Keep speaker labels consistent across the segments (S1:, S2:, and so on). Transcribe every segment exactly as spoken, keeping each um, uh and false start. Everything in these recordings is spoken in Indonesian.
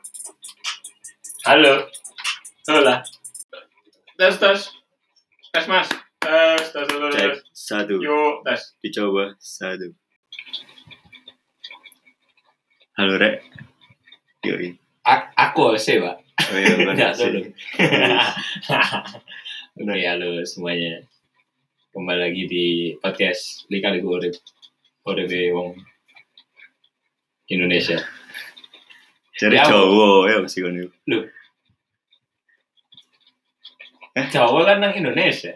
S1: Halo. Hola. Tes tes. Tes Mas. Tes tes tes.
S2: Cek satu.
S1: Yuk tes.
S2: Dicoba satu. Halo Rek. Yoi.
S1: A- aku sih Pak.
S2: Oh iya,
S1: Enggak
S2: sih.
S1: dulu. Udah ya halo semuanya. Kembali lagi di podcast Lika-liku Urip. Urip wong Indonesia.
S2: Jadi
S1: Ya,
S2: Jawa ya mesti kono.
S1: Loh. Jawa kan nang Indonesia.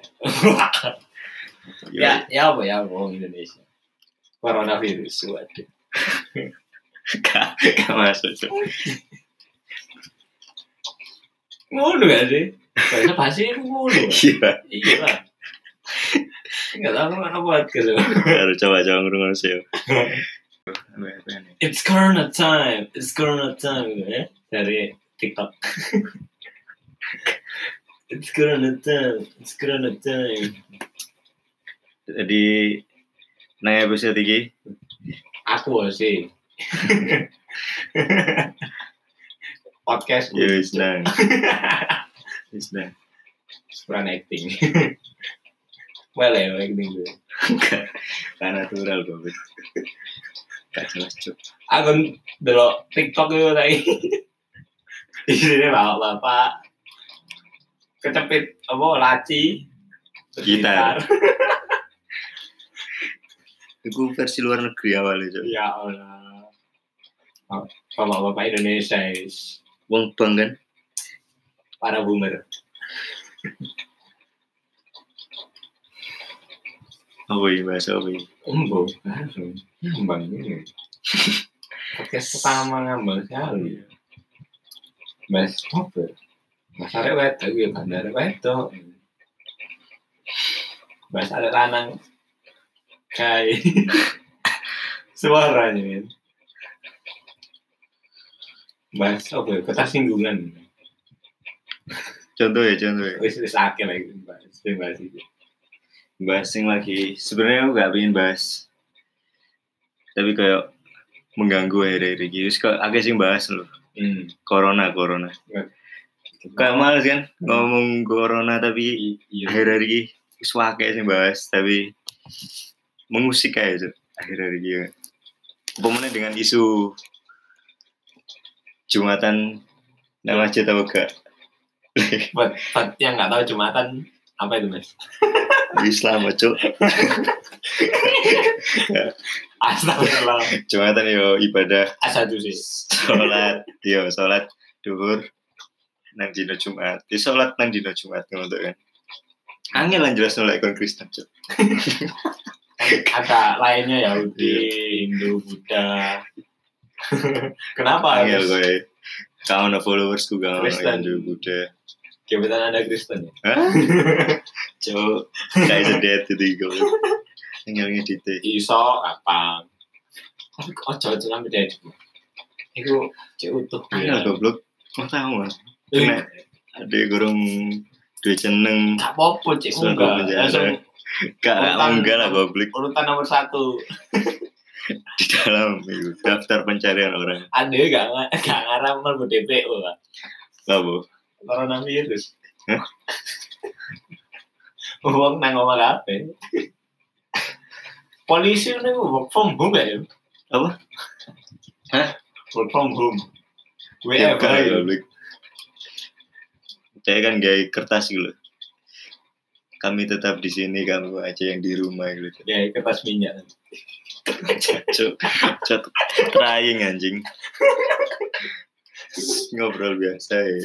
S1: ya, ya apa ya wong Indonesia. Coronavirus waduh.
S2: Gak gak masuk. Cuk.
S1: Ngono gak sih? Bahasa basi itu ngono.
S2: Iya.
S1: Iya lah. Enggak tahu mana buat gitu.
S2: Harus coba-coba ngurungan sih.
S1: It's Corona time. It's Corona time gitu ya. Dari TikTok. It's Corona time. It's Corona time.
S2: Jadi nang episode iki
S1: Aku sih. Podcast
S2: ya wis nang. Wis nang.
S1: Peran acting. Well ya acting gue.
S2: Kan natural kok. Gak jelas cuk.
S1: Aku delok TikTok itu tadi. Di sini bapak-bapak kecepit apa laci
S2: Gitar. Itu versi luar negeri awalnya cuk.
S1: Ya Allah. Bapak-bapak Indonesia is
S2: Wong bang kan?
S1: para boomer.
S2: Oh iya bahasa apa ini?
S1: Embung, langsung ngambang ini. Podcast pertama ngambang sekali. Mas apa? Mas arek wedok ya bandar wedok. Mas arek lanang kayak suaranya kan. Mas apa ya? Ketersinggungan.
S2: Contoh ya contoh ya.
S1: Wis wis akeh lagi bahas bahas itu.
S2: Bahas yang lagi sebenarnya aku gak pengen bahas tapi kayak mengganggu akhir-akhir ini terus kok agak sih bahas loh
S1: Hmm.
S2: corona corona kayak males kan ngomong corona tapi
S1: Iya.
S2: akhir-akhir ini suaka sih bahas tapi mengusik kayak itu akhir-akhir ini pemenang dengan isu Jumatan nama masjid apa gak
S1: Buat, buat yang nggak tahu Jumatan apa itu Mas?
S2: Islam cuk
S1: Astagfirullah.
S2: Jumatan yo ibadah
S1: Asal tuh sih.
S2: sholat yo sholat duhur nang dino Jumat di sholat nang dino Jumat ngono kan angel lan jelas nolak ikon Kristen cuk
S1: Ada lainnya Yahudi, Hindu, Buddha. Kenapa
S2: angel
S1: harus
S2: kowe kau na followers ku gak
S1: Kristen?
S2: Hindu Buddha
S1: gebetan Anda Kristen ya?
S2: hah cuk kayak sedet itu iku angel ngedite
S1: Iso apa? Tapi kok ojo-ojo sampe dadi. Iku cek utuh.
S2: angel goblok kok tahu mas
S1: Eh,
S2: kena ada gorong dua jeneng
S1: Gak apa-apa cek
S2: Suara
S1: enggak.
S2: penjara.
S1: Langsung
S2: gak
S1: Urutan-
S2: enggak lah goblok
S1: urutan nomor satu.
S2: di dalam itu daftar pencarian orang
S1: Anda gak gak ngarang mlebu D P O lah.
S2: labo
S1: Coronavirus.
S2: Hah?
S1: Wong nang omah kabeh. Polisi ini work from home gak ya?
S2: apa
S1: Work from home. W
S2: ya
S1: F
S2: kan
S1: H.
S2: goblok saya kan gaya kertas gitu kami tetap di sini kamu aja yang di rumah gitu
S1: Ya, kertas minyak.
S2: cuk cuk trying anjing ngobrol biasa ya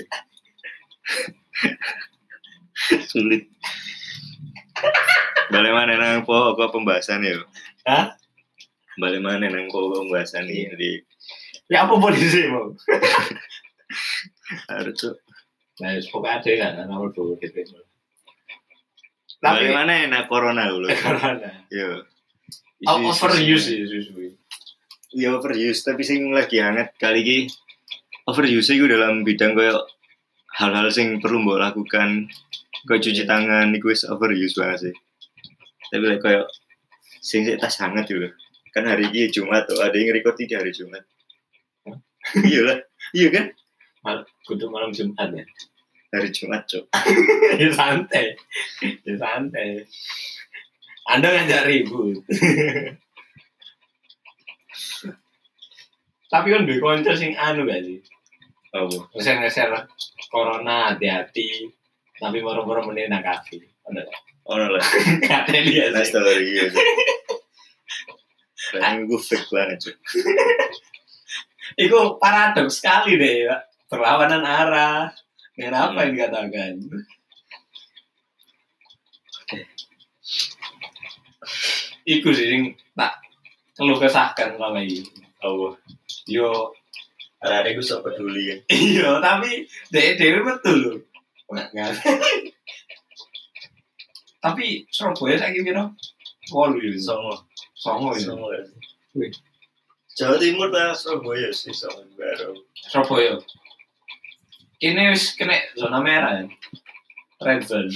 S2: sulit balik mana nang pokok pembahasan ya
S1: Hah?
S2: balik mana nang pokok pembahasan ini jadi
S1: Ya apa polisi mau?
S2: harus cuk
S1: Nah, pokoknya ada kan nomor dua gitu.
S2: balik
S1: Tapi
S2: mana enak corona dulu
S1: karena
S2: yo
S1: oh, overuse sih susu.
S2: ya overuse tapi sing lagi hangat kali ini overuse itu dalam bidang kayak hal-hal sing perlu mbok lakukan kayak cuci tangan itu wis overuse banget sih tapi like, kayak sing sik tas hangat juga kan hari ini Jumat tuh ada yang record di hari Jumat iya lah iya kan
S1: Mal, kudu malam Jumat ya.
S2: Hari Jumat, Cok.
S1: Ya santai. Ya santai. Anda ngajak ribut. Tapi kan duwe konco sing anu gak sih?
S2: Oh,
S1: Ngeser-ngeser corona hati-hati. Tapi moro-moro meneh nang kafe. Ono gak?
S2: ono lah.
S1: Kate dia
S2: Nah,
S1: sih.
S2: story ya. Kan gue fake banget, Cok.
S1: Itu paradoks sekali deh ya. Perlawanan arah. Dengan apa yang dikatakan? Iku sih sing tak keluh kesahkan selama ini.
S2: Oh,
S1: Yo,
S2: ada gue sok peduli ya.
S1: iya tapi dek dewe betul loh. Nggak, nggak. Tapi Surabaya saya kira wolu ya.
S2: Songo,
S1: Songo ya.
S2: Songo ya.
S1: Wih.
S2: Jawa Timur lah, Surabaya sih Songo baru.
S1: Surabaya. Ini wis kena zona merah ya. Red zone.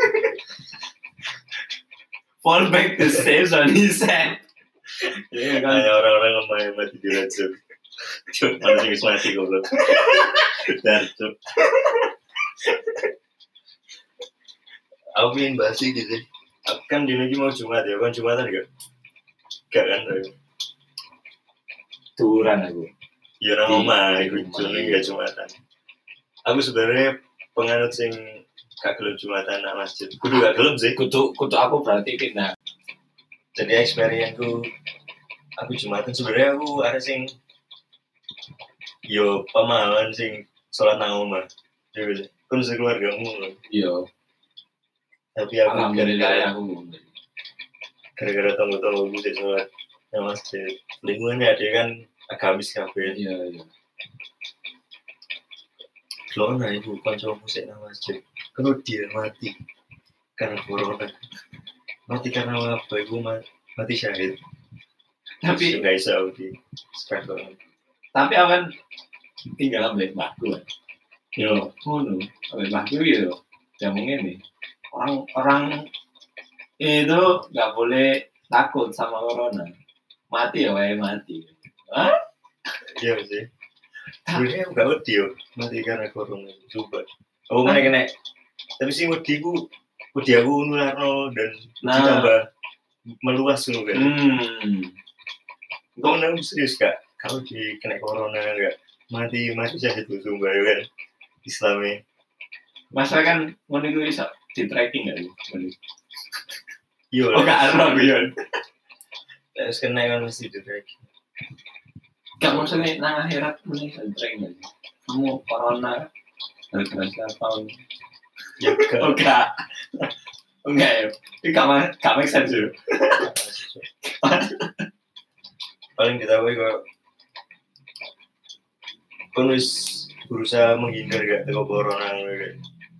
S1: Fall back to safe zone, he said. Iya kan.
S2: Hanya orang-orang yang main mati di red zone. Cuk, mana sih mati goblok. Dar, Cuk. Aku ingin bahas sih gitu. Kan di negeri mau Jumat ya, kan Jumatan gak? Gak kan?
S1: Turan aku.
S2: Ya orang omah, ikut Juni gak Jumatan. Aku sebenarnya penganut sing gak gelem Jumatan nak masjid. Kudu gak gelem sih.
S1: Kutu kutu aku berarti pindah.
S2: Jadi experience aku aku Jumatan sebenarnya aku ada sing yo pemahaman sing sholat nang omah. Jadi kan sekeluargamu.
S1: Iya.
S2: Tapi aku
S1: Alhamdulillah
S2: gara-gara
S1: aku.
S2: gara-gara tunggu-tunggu gue di sholat nang masjid. Lingkungannya dia kan agamis kabeh.
S1: Iya iya.
S2: Lo nah ibu kanca musik nang masjid. Kalau dia mati karena corona. Mati karena apa? Ibu mati syahid.
S1: Tapi
S2: nggak bisa di sekarang.
S1: tapi awan tinggal ambil mbahku. Yo, ngono. Ambil mbahku yo. Jamu ini. Orang-orang itu nggak boleh takut sama corona. Mati ya wae mati. Hah?
S2: Iya sih. Sebenarnya nggak wedi yo mati karena corona. Coba. Oh mana kena. Tapi sih wedi ku wedi aku nularno dan
S1: Nah.
S2: ditambah meluas nu kan.
S1: Hmm.
S2: Kau nang serius kak? Kalau di kena corona enggak mati mati saja itu sumpah ya kan Islamnya.
S1: Masa kan ngono iku iso di tracking enggak sih?
S2: Iya
S1: Oh, gak ada yo.
S2: Terus kena kan mesti di tracking.
S1: Gak maksudnya nang akhirat mending di tracking aja. Kamu corona gara-gara siapa?
S2: Ya kan.
S1: Oh enggak. Enggak ya. Ini gak gak make sense yo.
S2: Paling ditahui kok kan wis berusaha menghindar gak teko corona gitu.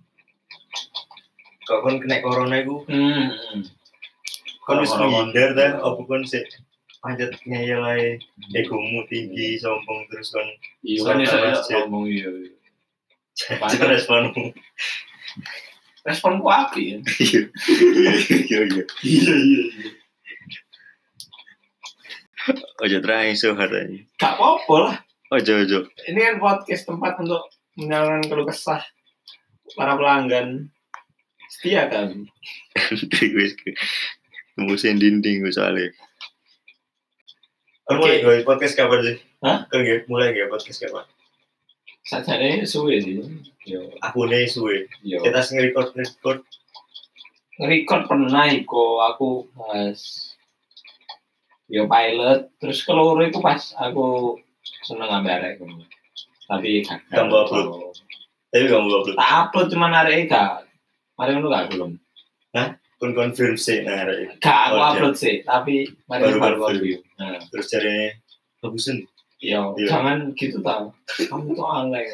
S2: Kok kon kena corona iku
S1: Hmm.
S2: kon wis menghindar ta apa kon sik pancet ngeyel ae egomu tinggi sombong terus kon
S1: Iya kan iso ngomong iya.
S2: Jangan responmu.
S1: Responku apa ya?
S2: Iya iya iya.
S1: Iya iya iya.
S2: Ojo terakhir so katanya.
S1: Gak apa-apa lah.
S2: Ojo ojo.
S1: Ini kan podcast tempat untuk menyalurkan keluh kesah para pelanggan setia kan.
S2: Wis musim dinding gue soalnya.
S1: Oke.
S2: Mulai gue podcast kapan sih?
S1: Hah?
S2: Kan gue mulai gue podcast kapan?
S1: Sajane suwe sih. Yo.
S2: Aku nih suwe.
S1: Yo.
S2: Kita nge-record nge-record.
S1: Nge-record pernah iku aku pas yo pilot terus keluar itu pas aku seneng ngambil arek iku. Tapi gak
S2: Kamu upload? Tapi kamu upload.
S1: tak upload cuma arek gak. Mari ngono gak belum.
S2: Kon confirm sih nah arek.
S1: Gak aku
S2: Oh,
S1: upload sih, tapi mari
S2: Baru
S1: baru
S2: confirm.
S1: review. Nah,
S2: Terus cari bagusan.
S1: yo
S2: Iya.
S1: jangan gitu tau. Kamu tuh aneh.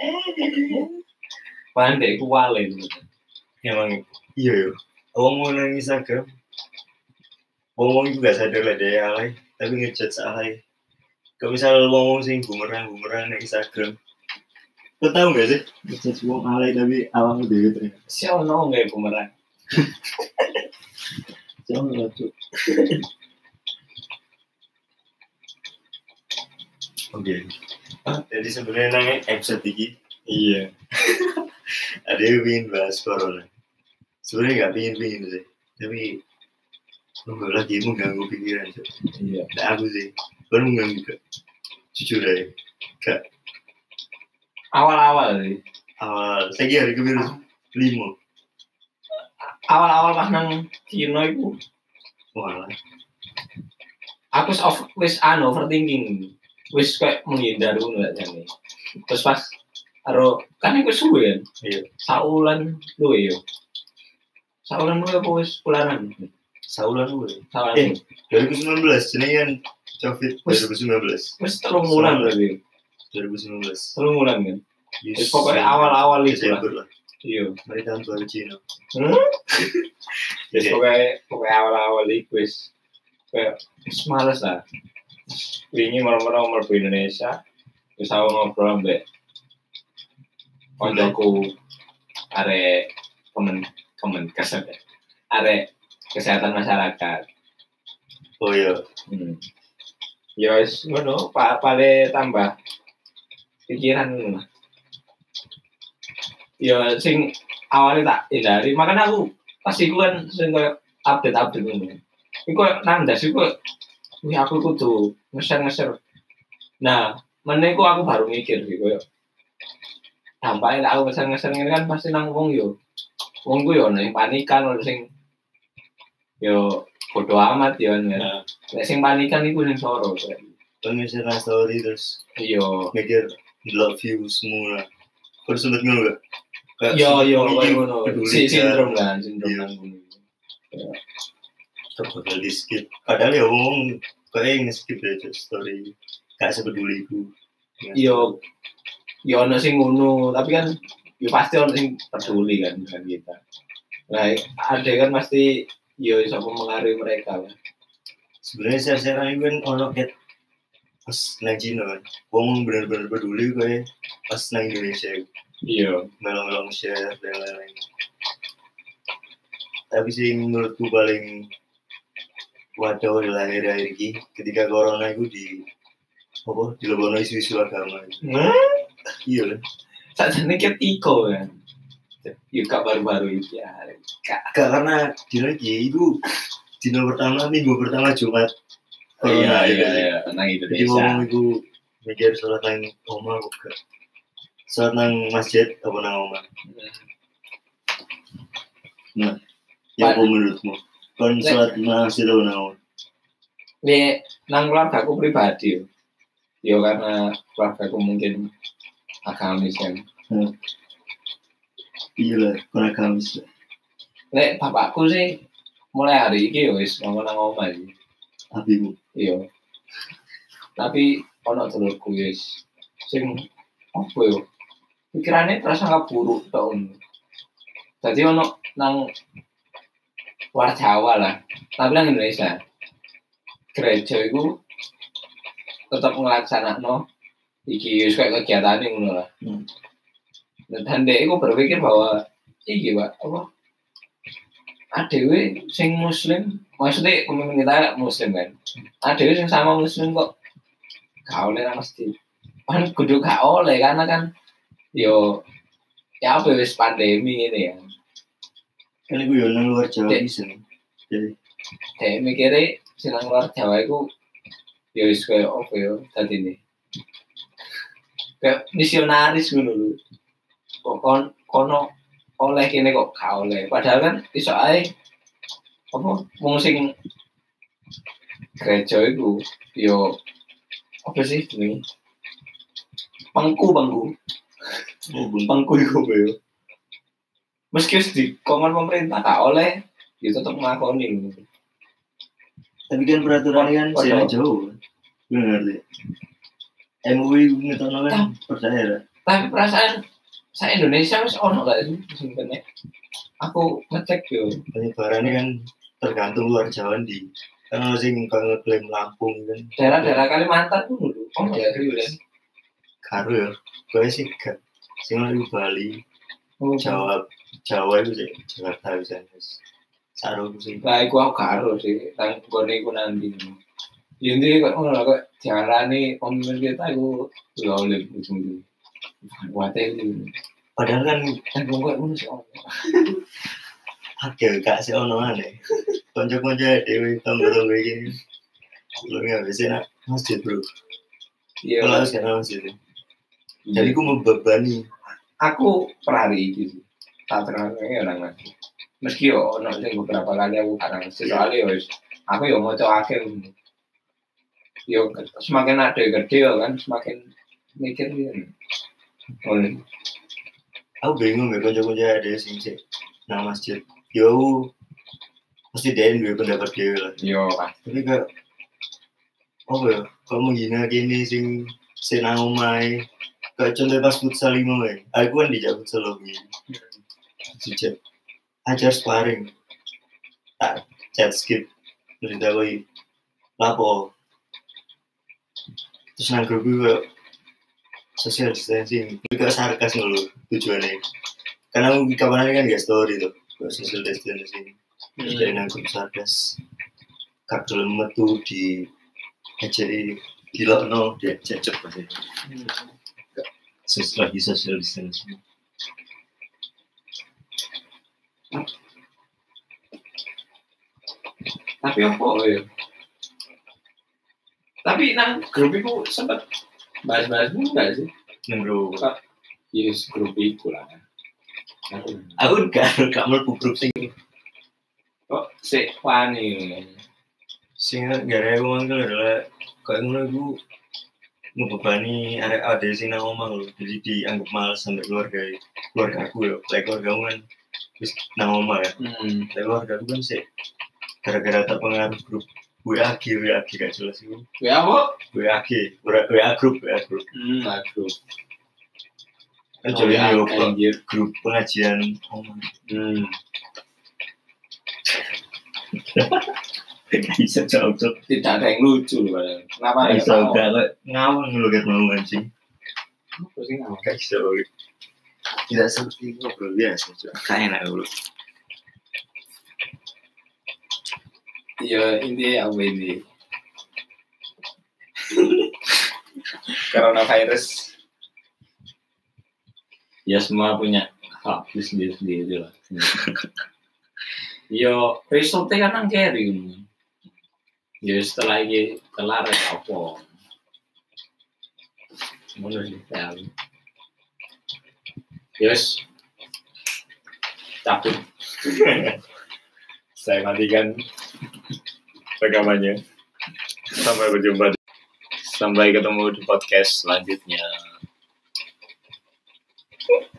S1: Pandai ku wale.
S2: Emang iya yo. Wong mau nang Instagram. Wong itu gak sadar lah dia alay, tapi ngejudge alay. Kalau misal wong sing bumerang bumerang nang Instagram. Kau tahu gak sih? Ngejudge wong alay tapi awam dhewe ternyata.
S1: Siapa nong gak bumerang?
S2: Jangan lucu. Oke. Jadi sebenarnya nang episode ini Iya. Ada yang ingin bahas corona. Sebenarnya nggak pingin-pingin sih, tapi enggak lagi mengganggu pikiran sih.
S1: Iya.
S2: Nah, aku sih, baru mengganggu gak? Jujur aja, gak.
S1: Awal-awal sih.
S2: Awal, saya kira hari kebiru lima.
S1: Awal-awal pas nang Cina itu,
S2: Wah,
S1: aku wis of, wis anu overthinking, wis kayak menghindar ngono lah jane. Terus pas karo kan iku suwe kan.
S2: iya.
S1: Saulan luwe yo. Saulan luwe apa wis bulanan?
S2: Saulan gue.
S1: Saulan.
S2: Eh, dua ribu sembilan belas, ini kan COVID dua ribu sembilan belas.
S1: Wis telung bulan berarti.
S2: dua ribu sembilan belas.
S1: Telung bulan kan. Wis pokoknya awal-awal itu lah.
S2: lah.
S1: Iya.
S2: Mari tahun baru Cina.
S1: Hmm? Wis pokoknya pokoknya awal-awal itu wis kayak wis males lah. Wingi marah-marah umur di Indonesia. Wis aku ngobrol mbek koncoku arek kemen kemen kesehatan arek kesehatan masyarakat.
S2: Oh iya.
S1: Hmm. Ya wis ngono, Pak pale tambah pikiran ngono. Ya sing awalnya tak hindari, makanya aku pasti ku kan sing koyo update-update ngono. Iku nang ndas iku wih aku kudu ngeser-ngeser. Nah, meneh ku aku baru mikir sih koyo dampaknya aku ngeser-ngeser ngene kan pasti nang wong yo. Wong ku yo nek panikan ono sing yo bodo amat yo kan. Nek sing panikan iku sing soro.
S2: Kan misalnya story terus
S1: Iya.
S2: mikir love you semua. Terus sempet ngono gak?
S1: Yo yo ngono. Si sindrom kan, sindrom kan.
S2: Terus bakal di skip. Padahal ya ngomong kayak nge-skip aja story. Gak sepeduli ku.
S1: Yo yo ono sing ngono, tapi kan yo pasti ono sing peduli kan dengan kita. Nah, ada kan pasti yo iso mempengaruhi mereka kan.
S2: Sebenarnya share-sharean itu kan ono ket pas nang Cina kan. Wong bener-bener peduli kayak pas nang Indonesia.
S1: Iya,
S2: melong-melong share dan lain-lain. Tapi sih menurutku paling wadah adalah akhir-akhir ini ketika corona itu di apa di lebono isu-isu agama.
S1: Nah,
S2: iya kan.
S1: saat ini ketiko kan. Yuk baru-baru itu ya.
S2: Gak karena dino itu dino pertama minggu pertama Jumat.
S1: Oh, iya iya iya, nang Indonesia.
S2: Jadi ngomong itu mikir sholat nang omah kok. Sholat nang masjid apa nang omah. Nah, ya apa menurutmu? Kon sholat nang masjid apa nang omah?
S1: Nih, nang keluarga aku pribadi yo. Yo karena keluarga aku mungkin agamis kan.
S2: Hmm. Iya lah, kon agamis lah.
S1: Nek bapakku sih mulai hari ini yo wis ngomong nang omah iki.
S2: Abimu.
S1: Iya. Tapi ono dulurku wis sing apa yo? Pikirannya terasa nggak buruk tahun. Jadi ono nang luar Jawa lah, tapi nang Indonesia gereja itu tetap ngelaksanakan iki kayak kegiatan ini ngono lah. Hmm. Dan dia itu berpikir bahwa iki Pak apa? Adewe sing muslim, maksudnya pemimpin kita muslim kan. Adewe sing sama muslim kok gak oleh nang masjid. Kan kudu gak oleh karena kan yo ya apa wis pandemi ini ya.
S2: Kan gue yo nang luar Jawa bisa nih. Jadi
S1: kayak mikirnya sing nang luar Jawa iku yo wis koyo apa yo dadine. Kayak misionaris ngono lho. Kok kon kono oleh kene kok gak oleh. Padahal kan iso ae apa wong sing gereja iku yo apa sih jenenge? Pangku pangku.
S2: oh,
S1: Pangku iku yo. Meski wis dikongkon pemerintah gak oleh, ya tetep nglakoni.
S2: Tapi kan peraturan kan saya jauh. Benar deh. M U I ngetokno kan per daerah.
S1: Tapi perasaan saya Indonesia wis ono gak sih sebenarnya? Aku ngecek yo.
S2: Penyebarannya kan tergantung luar Jawa di. Kan ono sing ngeklaim Lampung kan.
S1: Daerah-daerah Kalimantan tuh dulu. Oh ya kan.
S2: Karo ya. Kowe sih gak. Sing di Bali. Oh, Jawa Jawa itu sih Jakarta bisa wis. Saroku sih.
S1: Lah iku aku karo sih. Nang gone iku nanti. Jadi kok ngono kok diarani pemimpin kita iku lho oleh ujung. Kuatir itu.
S2: Padahal kan
S1: Kan wong kok ngono sih.
S2: akeh gak sih ono aneh. Konco-konco dhewe tonggo-tonggo iki. Lu nggak bisa nak masjid bro.
S1: Iya.
S2: Kalau harus kena masjid. Jadi aku membebani.
S1: Aku perhari gitu. Tak terangnya orang masjid. Meski yo ono sing beberapa kali aku karang masjid soalnya yo aku yo maca akeh. Yo semakin ada gede kan semakin mikir gitu. Oh,
S2: aku bingung ya konco-konco ada sing sik nang masjid. Yo pasti dia duwe pendapat dhewe lah.
S1: yo pasti.
S2: Tapi kayak apa ya? Kalau menghina gini sing sing nang omahe. Kayak contoh pas futsal lima wae. Aku kan dijak futsal lagi. Dijak ajar sparring. Tak chat skip. Terus dawai lapo. Terus nang grup gue social distancing. Juga sarkas dulu tujuannya. Karena aku kapan kan gak story tuh. Social distancing. Terus dari nang grup sarkas. Kak dalam metu di ajari dilokno dia cecep pasti. Sesuai lagi social distancing.
S1: Tapi apa ya? Tapi nang grup itu sempat bahas-bahas enggak sih?
S2: Nang grup.
S1: Yes, grup itu lah.
S2: Aku gak gak mlebu grup sing
S1: kok sik wani.
S2: Sing gara-gara aku mangkel adalah kayak ngono iku ngebebani arek ade sing nang omah lho. Jadi dianggap males sampai keluarga keluarga aku ya. Kayak keluarga aku kan wis nang omah ya.
S1: Hmm.
S2: Kayak keluarga aku kan sih gara-gara terpengaruh grup W A G, W A G gak jelas itu.
S1: Ya apa?
S2: W A G, W A grup, W A grup.
S1: Hmm, grup.
S2: Kan jadi yo grup pengajian omah.
S1: Hmm.
S2: Bisa cocok.
S1: Tidak ada yang lucu loh padahal. Kenapa ya?
S2: Bisa gak ngawang lu kan mau anjing.
S1: Apa sih ngawang?
S2: Gak bisa. Tidak seperti ngobrol biasa, kayak enak dulu.
S1: Iya, ini apa ini? Coronavirus. Ya semua punya hak sendiri-sendiri lah. Yo, resultnya kan nang keri. Yo setelah ini kelar apa? Ngono sih ya. Yes. Cabut. Saya matikan rekamannya. Sampai berjumpa. Sampai ketemu di podcast selanjutnya.